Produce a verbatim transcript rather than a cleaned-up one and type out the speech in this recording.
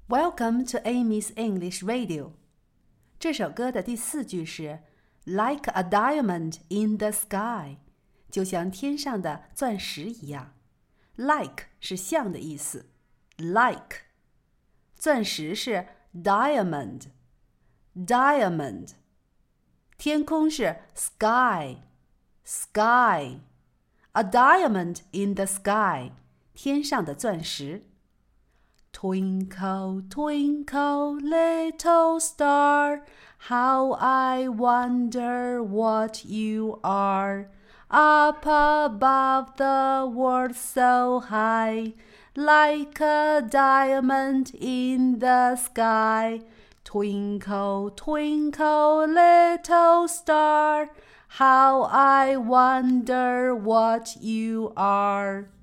Welcome to Amy's English Radio. 这首歌的第四句是 Like a diamond in the sky， 就像天上的钻石一样。Like 是像的意思 ，like。钻石是 diamond， diamond。天空是 sky， sky。A diamond in the sky， 天上的钻石。Twinkle, twinkle, little star, how I wonder what you are. Up above the world so high, like a diamond in the sky. Twinkle, twinkle, little star, how I wonder what you are.